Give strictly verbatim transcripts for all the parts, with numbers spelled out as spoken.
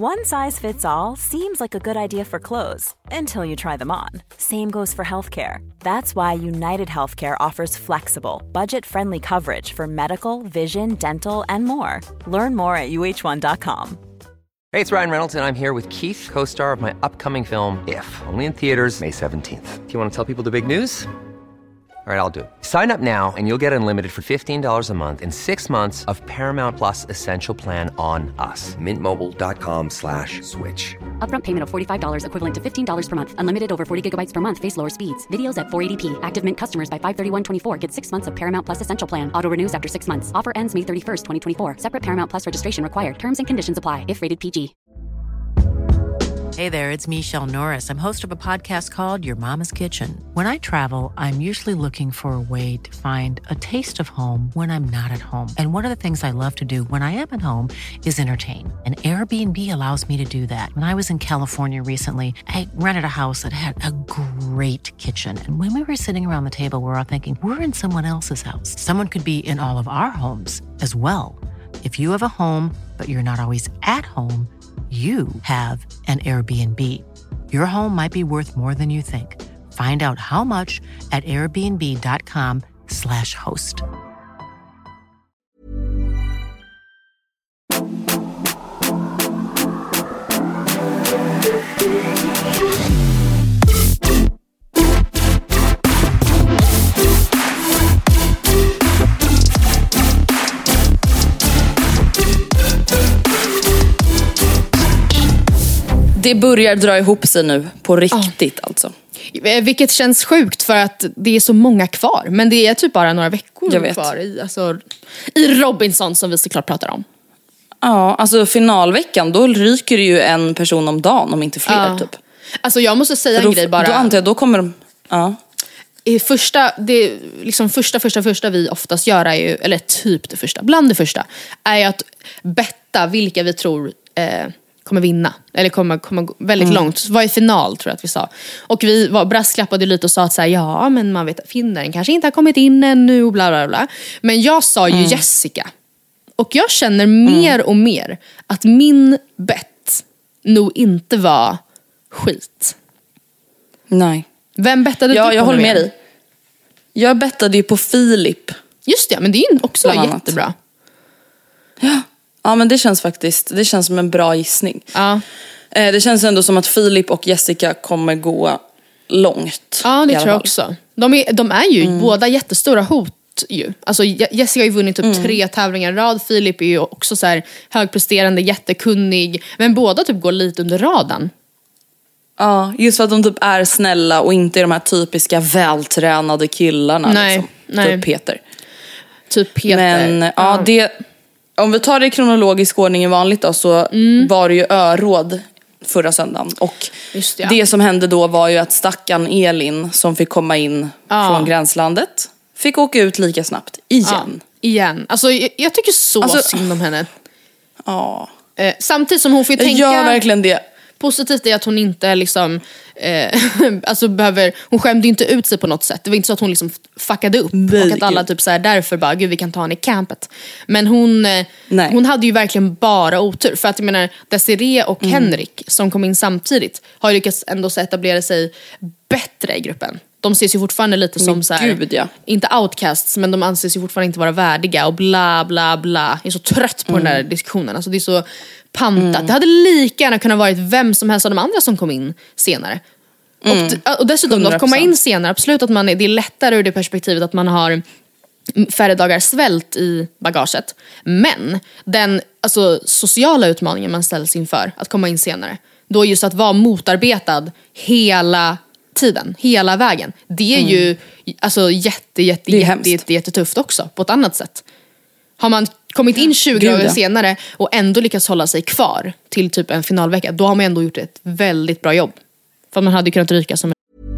One size fits all seems like a good idea for clothes until you try them on. Same goes for healthcare. That's why United Healthcare offers flexible, budget-friendly coverage for medical, vision, dental, and more. Learn more at U H one dot com. Hey, it's Ryan Reynolds, and I'm here with Keith, co-star of my upcoming film, If, only in theaters May seventeenth. Do you want to tell people the big news? All right, I'll do it. Sign up now and you'll get unlimited for fifteen dollars a month and six months of Paramount Plus Essential Plan on us. Mint Mobile dot com slash switch. Upfront payment of forty-five dollars equivalent to fifteen dollars per month. Unlimited over forty gigabytes per month. Face lower speeds. Videos at four eighty p. Active Mint customers by five thirty-one twenty-four get six months of Paramount Plus Essential Plan. Auto renews after six months. Offer ends May thirty-first, twenty twenty-four. Separate Paramount Plus registration required. Terms and conditions apply if rated P G. Hey there, it's Michelle Norris. I'm host of a podcast called Your Mama's Kitchen. When I travel, I'm usually looking for a way to find a taste of home when I'm not at home. And one of the things I love to do when I am at home is entertain. And Airbnb allows me to do that. When I was in California recently, I rented a house that had a great kitchen. And when we were sitting around the table, we were all thinking, we're in someone else's house. Someone could be in all of our homes as well. If you have a home, but you're not always at home, you have an Airbnb. Your home might be worth more than you think. Find out how much at airbnb.com slash host. Det börjar dra ihop sig nu, på riktigt oh. alltså. Vilket känns sjukt för att det är så många kvar. Men det är typ bara några veckor kvar i, alltså, i Robinson som vi såklart pratar om. Ja, alltså finalveckan, då ryker det ju en person om dagen, om inte fler ja. typ. Alltså jag måste säga då, en grej bara. Då antar jag, då kommer de... Ja. I första, det liksom första, första, första vi oftast gör är ju, eller typ det första, bland det första, är ju att betta vilka vi tror... Eh, kommer vinna, eller kommer, kommer väldigt mm. långt. Var i final tror jag att vi sa. Och vi var, brasklappade lite och sa att så här, ja men man vet att finnaren kanske inte har kommit in ännu och bla bla bla. Men jag sa ju mm. Jessica. Och jag känner mer mm. och mer att min bett nog inte var skit. Nej. Vem bettade ja, du på? Jag håller med dig. Jag bettade ju på Filip. Just det, men det är ju också jättebra. Ja. Ja, men det känns faktiskt, det känns som en bra gissning. Ja. Eh, det känns ändå som att Filip och Jessica kommer gå långt. Ja, det tror jag också. De är, de är ju mm. båda jättestora hot ju. Alltså Jessica har ju vunnit typ mm. tre tävlingar i rad. Filip är ju också så här högpresterande, jättekunnig. Men båda typ går lite under radarn. Ja, just för att de typ är snälla och inte är de här typiska vältränade killarna. Nej, liksom. nej. Typ Peter. Typ Peter. Men ja, ja det... Om vi tar det i kronologisk ordning i vanligt då, så mm. var det ju öråd förra söndagen. Och Just det, ja. det som hände då var ju att stackan Elin som fick komma in ja. från gränslandet fick åka ut lika snabbt igen. Ja, igen. Alltså jag, jag tycker så alltså, synd om henne. Ja. Eh, samtidigt som hon får jag tänka... gör verkligen det. Positivt är att hon inte liksom eh, alltså behöver, hon skämde inte ut sig på något sätt. Det var inte så att hon liksom fuckade upp. Nej, och att alla typ så här, därför bara, gud vi kan ta henne i campet. Men hon, eh, hon hade ju verkligen bara otur. För att jag menar, Desiree och mm. Henrik som kom in samtidigt har ju lyckats ändå så etablera sig bättre i gruppen. De ses ju fortfarande lite som men så här, gud, ja. inte outcasts, men de anses ju fortfarande inte vara värdiga och bla bla bla. Jag är så trött på mm. den där diskussionen. Alltså det är så pantat. Mm. Det hade lika gärna kunnat varit vem som helst av de andra som kom in senare. Mm. Och, och dessutom hundra procent. Att komma in senare, absolut att man är, det är lättare ur det perspektivet att man har färre dagar svält i bagaget. Men den alltså, sociala utmaningen man ställs inför att komma in senare, då just att vara motarbetad hela tiden, hela vägen. Det är mm. ju alltså jätte, jätte, det jätte, jätte, jättetufft också på ett annat sätt. Har man kommit in tjugo dagar senare och ändå lyckats hålla sig kvar till typ en finalvecka, då har man ändå gjort ett väldigt bra jobb. För man hade kunnat ryka som en...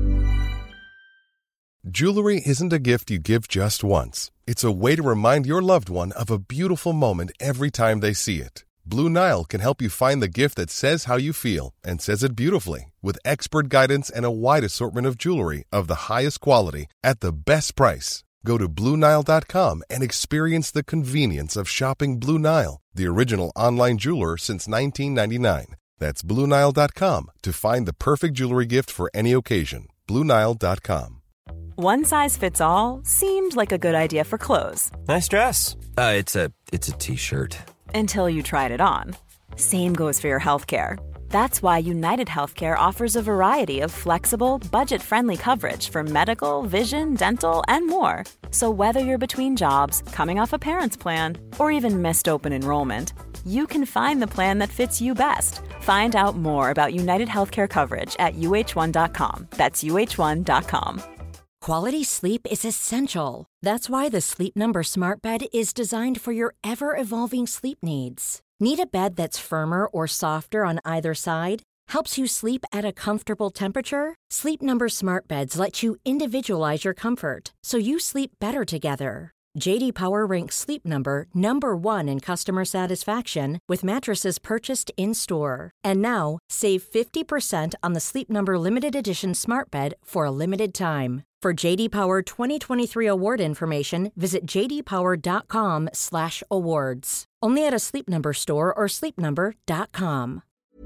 Jewelry isn't a gift you give just once. It's a way to remind your loved one of a beautiful moment every time they see it. Blue Nile can help you find the gift that says how you feel and says it beautifully, with expert guidance and a wide assortment of jewelry of the highest quality at the best price. Go to Blue Nile dot com and experience the convenience of shopping Blue Nile, the original online jeweler since nineteen ninety-nine. That's Blue Nile dot com to find the perfect jewelry gift for any occasion. Blue Nile dot com. One size fits all seemed like a good idea for clothes. Nice dress. Uh, it's a it's a t-shirt. Until you tried it on. Same goes for your healthcare. That's why United Healthcare offers a variety of flexible, budget-friendly coverage for medical, vision, dental, and more. So whether you're between jobs, coming off a parent's plan, or even missed open enrollment, you can find the plan that fits you best. Find out more about United Healthcare coverage at U H one dot com. That's U H one dot com. Quality sleep is essential. That's why the Sleep Number Smart Bed is designed for your ever-evolving sleep needs. Need a bed that's firmer or softer on either side? Helps you sleep at a comfortable temperature? Sleep Number Smart Beds let you individualize your comfort, so you sleep better together. J D Power ranks Sleep Number number one in customer satisfaction with mattresses purchased in-store. And now, save fifty percent on the Sleep Number Limited Edition Smart Bed for a limited time. For J D Power twenty twenty-three award information, visit j d power dot com slash awards. Only at a Sleep Number store or sleep number dot com.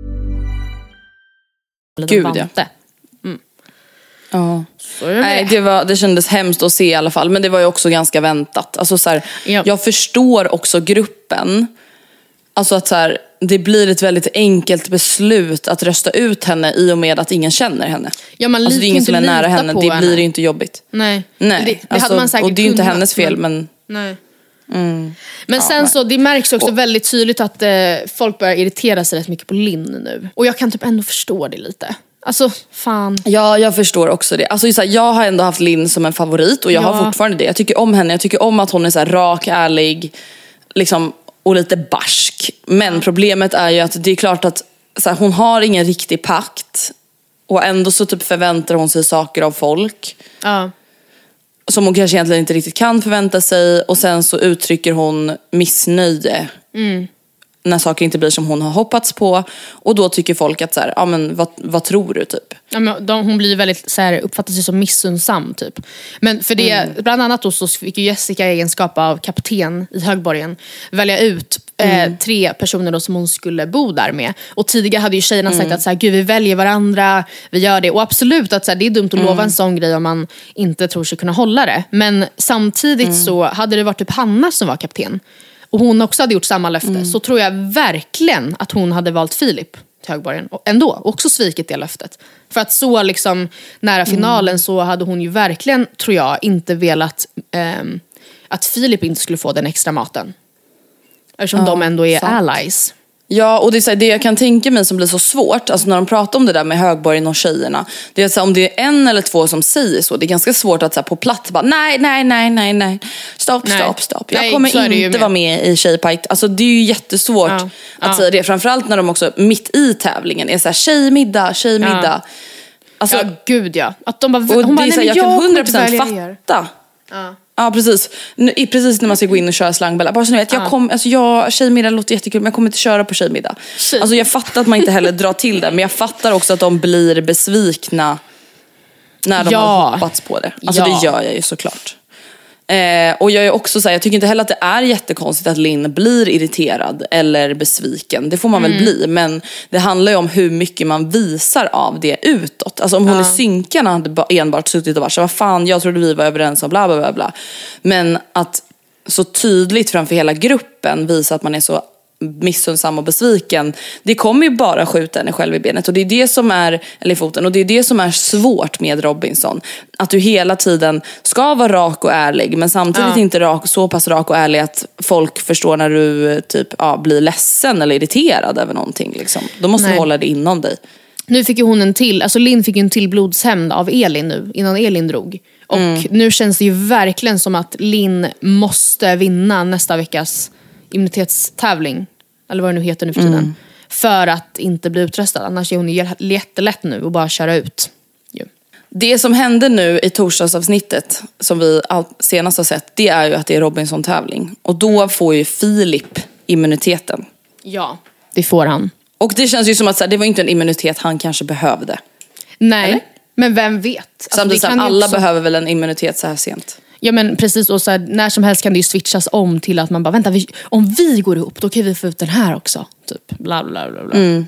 Gud, ja. Mm. Ja. Det. Nej, det, var, det kändes hemskt att se i alla fall. Men det var ju också ganska väntat. Alltså, så här, ja. Jag förstår också gruppen. Alltså att så här, det blir ett väldigt enkelt beslut att rösta ut henne i och med att ingen känner henne. Ja, man alltså, det är ingen som är nära henne. Det henne. blir ju inte jobbigt. Nej, Nej. Det, det alltså, hade man säkert och det är ju inte kunnat, hennes fel, men... men... Nej. Mm. Men ja, sen nej. så, det märks också och, väldigt tydligt att eh, folk börjar irritera sig rätt mycket på Linn nu. Och jag kan typ ändå förstå det lite. Alltså, fan. Ja, jag förstår också det. Alltså, så här, jag har ändå haft Linn som en favorit. Och jag ja. har fortfarande det. Jag tycker om henne. Jag tycker om att hon är så här rak, ärlig. Liksom, och lite barsk. Men problemet är ju att det är klart att så här, hon har ingen riktig pakt. Och ändå så typ förväntar hon sig saker av folk. Ja. Som hon kanske egentligen inte riktigt kan förvänta sig. Och sen så uttrycker hon missnöje. Mm. När saker inte blir som hon har hoppats på. Och då tycker folk att så här, ja men vad, vad tror du typ? Ja, men de, hon blir väldigt så här, uppfattar sig som missunnsam typ. Men för det, mm. bland annat då så fick ju Jessica i egenskap av kapten i Högborgen välja ut mm. eh, tre personer då som hon skulle bo där med. Och tidigare hade ju tjejerna sagt mm. att så här, gud vi väljer varandra, vi gör det. Och absolut att så här, det är dumt att mm. lova en sån grej om man inte tror sig kunna hålla det. Men samtidigt mm. så hade det varit typ Hanna som var kapten. Och hon också hade gjort samma löfte. Mm. Så tror jag verkligen att hon hade valt Filip till Högborgen. Och ändå, också svikit det löftet. För att så liksom nära finalen mm. så hade hon ju verkligen, tror jag, inte velat eh, att Filip inte skulle få den extra maten. Eftersom ja, de ändå är sant. Allies. Ja, och det är så här, det jag kan tänka mig som blir så svårt, alltså när de pratar om det där med Högborgen och tjejerna, det är så här, om det är en eller två som säger så, det är ganska svårt att så här, på platt bara, nej, nej, nej, nej, nej, stopp, nej. stopp, stopp. Jag nej, kommer inte vara med i Tjejpajk. Alltså det är ju jättesvårt ja. att ja. säga det, framförallt när de också mitt i tävlingen är så här, tjejmiddag, tjejmiddag. Ja. Alltså, ja, gud ja. Att de bara, och hon bara, det är så här, jag, jag kan hundra procent fatta. Ja. Ja, precis. Nu, precis när man ska gå in och köra slangbella. Bara så ni vet, jag kom, alltså jag, tjejmiddag låter jättekul, men jag kommer inte köra på tjejmiddag. Tjej. Alltså jag fattar att man inte heller drar till det, men jag fattar också att de blir besvikna när de ja. har hoppats på det. Alltså ja. det gör jag ju såklart. Eh, och jag är också så här, jag tycker inte heller att det är jättekonstigt att Linn blir irriterad eller besviken. Det får man mm. väl bli, men det handlar ju om hur mycket man visar av det utåt. Alltså om hon ja. i synkarna hade enbart suttit och varit så, vad fan, jag trodde vi var överens om bla bla bla bla. Men att så tydligt framför hela gruppen visa att man är så missunnsam och besviken, det kommer ju bara skjuta henne själv i benet. Och det är det som är, eller i foten, och det är det som är svårt med Robinson. Att du hela tiden ska vara rak och ärlig, men samtidigt ja. inte rak, så pass rak och ärlig att folk förstår när du typ ja, blir ledsen eller irriterad över någonting liksom. Då måste Nej. du hålla det inom dig. Nu fick ju hon en till, alltså Linn fick ju en till blodshämnd av Elin nu, innan Elin drog. Och mm. nu känns det ju verkligen som att Linn måste vinna nästa veckas immunitetstävling, eller vad det nu heter nu för tiden, mm. för att inte bli utröstad. Annars är hon ju jättelätt nu att bara köra ut. Jo. Det som hände nu i torsdagsavsnittet som vi senast har sett, det är ju att det är Robinson-tävling. Och då får ju Filip immuniteten. Ja, det får han. Och det känns ju som att så här, det var inte en immunitet han kanske behövde. Nej, eller? Men vem vet? Alltså, samtidigt, det kan alla också... behöver väl en immunitet så här sent. Ja men precis, och så här, när som helst kan det ju switchas om till att man bara, vänta, vi, om vi går ihop då kan vi få ut den här också. Typ, bla bla bla bla. Mm.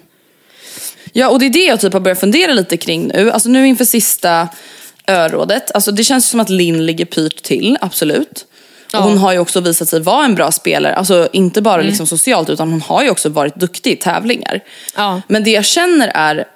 Ja, och det är det jag typ har börjat fundera lite kring nu. Alltså nu inför sista örådet. Alltså det känns som att Linn ligger pyrt till, absolut. Och hon har ju också visat sig vara en bra spelare. Alltså inte bara mm. liksom socialt, utan hon har ju också varit duktig i tävlingar. Ja. Men det jag känner är,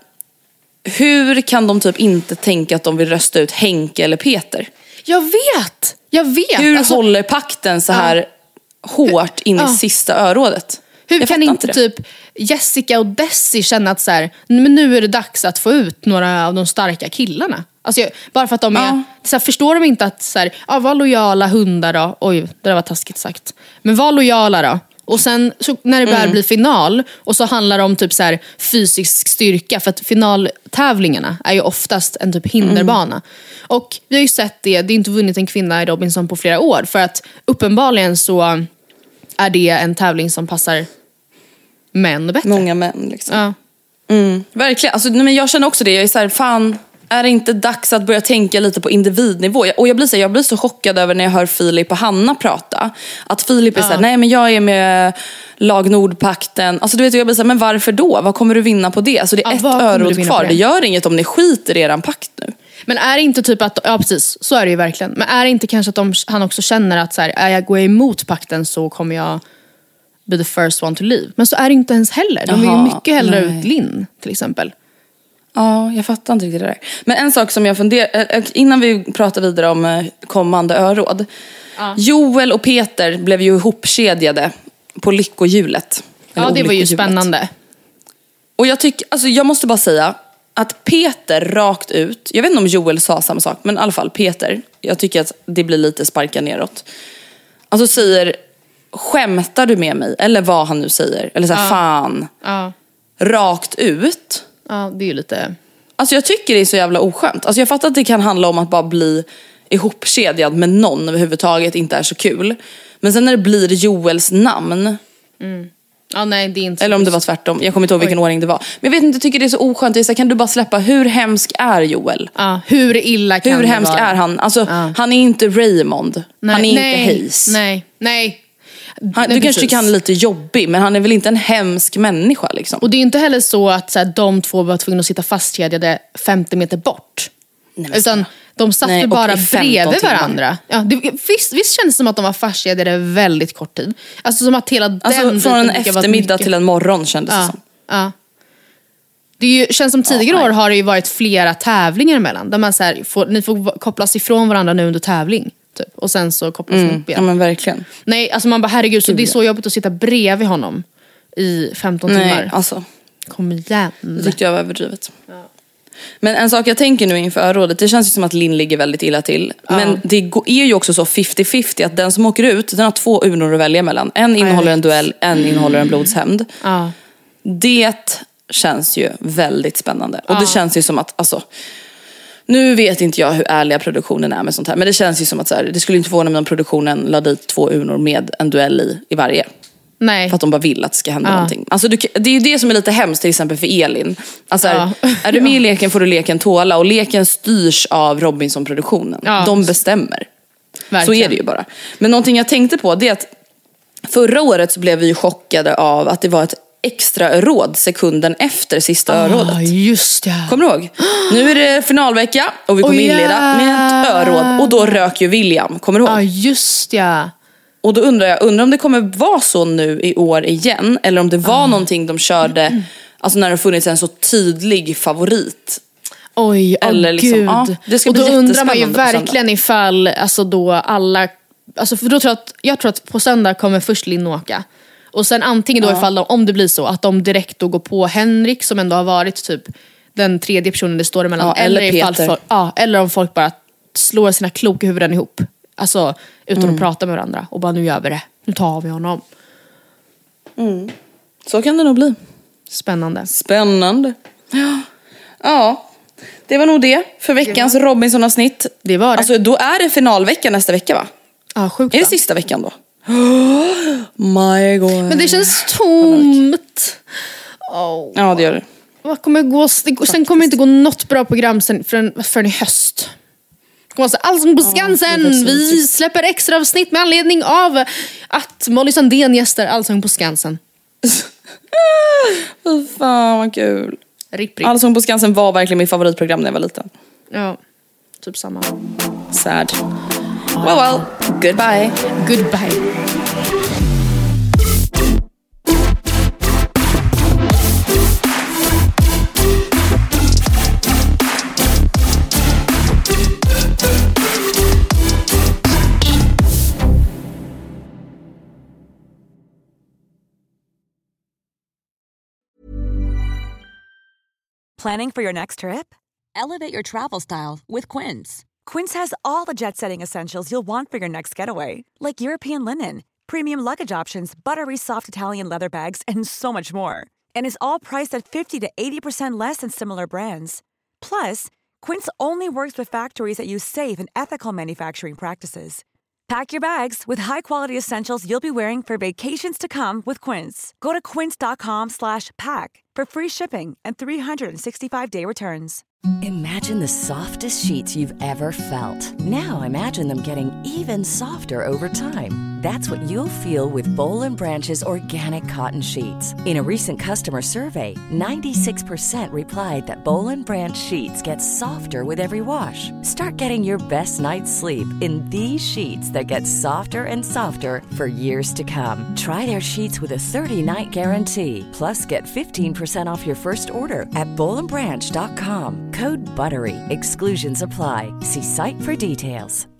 hur kan de typ inte tänka att de vill rösta ut Henke eller Peter? Jag vet, jag vet. Hur alltså, håller pakten så här ja. hårt in ja. i sista örådet? Hur jag kan inte, inte typ Jessica och Desi känna att så här, men nu är det dags att få ut några av de starka killarna? Alltså jag, bara för att de är, ja. så här, förstår de inte att så här, ja, var lojala hundar då. Oj, det var taskigt sagt. Men var lojala då. Och sen så, när det börjar mm. bli final och så handlar det om typ så här, fysisk styrka, för att finaltävlingarna är ju oftast en typ hinderbana. Mm. Och vi har ju sett det, det är inte vunnit en kvinna i Robinson på flera år, för att uppenbarligen så är det en tävling som passar män bättre. Många män liksom. Ja. Mm. Verkligen, alltså, men jag känner också det, jag är så här, fan, är det inte dags att börja tänka lite på individnivå? Och jag blir så, jag blir så chockad över när jag hör Filip och Hanna prata. Att Filip är ja. så här, nej men jag är med Lag Nordpakten. Alltså du vet, jag blir så här, men varför då? Vad kommer du vinna på det? Alltså det är ja, ett örot kvar. Det? det gör inget om ni skiter i eran pakt nu. Men är det inte typ att, ja precis, så är det ju verkligen. Men är det inte kanske att de, han också känner att så här, är jag går emot pakten så kommer jag be the first one to leave. Men så är det inte ens heller. De vill ju mycket hellre nej. ut Linn till exempel. Ja, jag fattar inte riktigt det där. Men en sak som jag funderar, innan vi pratar vidare om kommande öråd. Ja. Joel och Peter blev ju ihopkedjade på lyckohjulet. Ja, det var ju spännande. Och jag tycker, alltså jag måste bara säga att Peter rakt ut, jag vet inte om Joel sa samma sak, men i alla fall Peter, jag tycker att det blir lite sparka neråt. Alltså säger, skämtar du med mig? Eller vad han nu säger. Eller så här, ja. fan. Ja. Rakt ut. Ja, det är ju lite... Alltså jag tycker det är så jävla oskönt. Alltså jag fattar att det kan handla om att bara bli ihopkedjad med någon överhuvudtaget inte är så kul. Men sen när det blir Joels namn... Mm. Ja, nej, det är inte eller om det var tvärtom. Jag kommer inte ihåg vilken Oj. ordning det var. Men jag vet inte, jag tycker det är så oskönt. Det är så, kan du bara släppa, hur hemsk är Joel? Ja, hur illa kan hur det hemsk vara? är han? Alltså, ja. han är inte Raymond. Nej, han är nej, inte Hayes. Nej, nej. Han, nej du precis. kanske tycker han är lite jobbig, men han är väl inte en hemsk människa liksom. Och det är inte heller så att så här, de två var tvungna att sitta fastkedjade femtio meter bort. Nej, utan de satt nej, bara bredvid varandra. Ja, det, visst, visst känns det som att de var fastkedjade väldigt kort tid. Alltså som att hela den alltså, från en eftermiddag mycket... till en morgon kändes ja, det som. Ja. Det är ju, känns som tidigare ja, år har det ju varit flera tävlingar emellan. Där man så här, får, ni får kopplas ifrån varandra nu under tävling. Typ. Och sen så kopplas mm, upp igen. Ja men verkligen. Nej, alltså man bara herregud, så det är så jobbigt att sitta bredvid honom i femton nej, timmar. Alltså. Kom igen. Det tyckte jag var överdrivet. Ja. Men en sak jag tänker nu inför örådet, det känns ju som att Linn ligger väldigt illa till. Ja. Men det är ju också så femtio femtio att den som åker ut, den har två urnor att välja mellan. En innehåller en duell, en innehåller en blodshämnd. Ja. Det känns ju väldigt spännande. Och ja. det känns ju som att, alltså... Nu vet inte jag hur ärliga produktionen är med sånt här. Men det känns ju som att så här, det skulle inte förvåna mig om produktionen la dit två urnor med en duell i, i varje. Nej. För att de bara vill att det ska hända ja. någonting. Alltså, du, det är ju det som är lite hemskt till exempel för Elin. Alltså, ja. är du med i leken får du leken tåla. Och leken styrs av Robinson-produktionen. Ja. De bestämmer. Verkligen. Så är det ju bara. Men någonting jag tänkte på det är att förra året så blev vi ju chockade av att det var ett extra råd sekunden efter sista oh, örådet. Just det. Kommer du ihåg? Nu är det finalvecka och vi kommer oh, yeah. inleda med ett öråd. Och då rök ju William. Kommer du ihåg? Ja, oh, just det. Och då undrar jag, undrar om det kommer vara så nu i år igen. Eller om det var oh. någonting de körde mm. alltså när det har funnits en så tydlig favorit. Oj, åh oh, liksom, gud. Ja, det ska och bli då undrar man ju verkligen ifall alltså då alla... Alltså för då tror jag, att, jag tror att på söndag kommer först Linn åka. Och sen antingen då ja. ifall de, om det blir så att de direkt då går på Henrik som ändå har varit typ den tredje personen det står emellan. Ja, eller eller, ifall Peter. Folk, ja, eller om folk bara slår sina kloka huvuden ihop. Alltså utan mm. att prata med varandra. Och bara nu gör vi det. Nu tar vi honom. Mm. Så kan det nog bli. Spännande. Spännande. Ja. Ja. Det var nog det för veckans det var... Robinson-avsnitt. Det var det. Alltså då är det finalvecka nästa vecka va? Ja, sjukt. Är det sista veckan då? Oh my god. Men det känns tomt. Oh. Ja, det gör det. Vad kommer gå? Sen kommer det inte gå något bra program sen, förrän, förrän i höst. Stockholms Allsång på Skansen. Ja, vi släpper extra avsnitt med anledning av att Molly Sandén gästar Allsång på Skansen. Fy fan vad kul. Ripp, ripp. Allsång på Skansen var verkligen mitt favoritprogram när jag var liten. Ja, typ samma. Sad. Well well, goodbye. Goodbye. Planning for your next trip? Elevate your travel style with Quince. Quince has all the jet-setting essentials you'll want for your next getaway, like European linen, premium luggage options, buttery soft Italian leather bags, and so much more. And is all priced at fifty to eighty percent less than similar brands. Plus, Quince only works with factories that use safe and ethical manufacturing practices. Pack your bags with high-quality essentials you'll be wearing for vacations to come with Quince. Go to quince.com slash pack for free shipping and three sixty-five day returns. Imagine the softest sheets you've ever felt. Now imagine them getting even softer over time. That's what you'll feel with Boll and Branch's organic cotton sheets. In a recent customer survey, ninety-six percent replied that Boll and Branch sheets get softer with every wash. Start getting your best night's sleep in these sheets that get softer and softer for years to come. Try their sheets with a thirty-night guarantee. Plus, get fifteen percent off your first order at boll and branch dot com. Code BUTTERY. Exclusions apply. See site for details.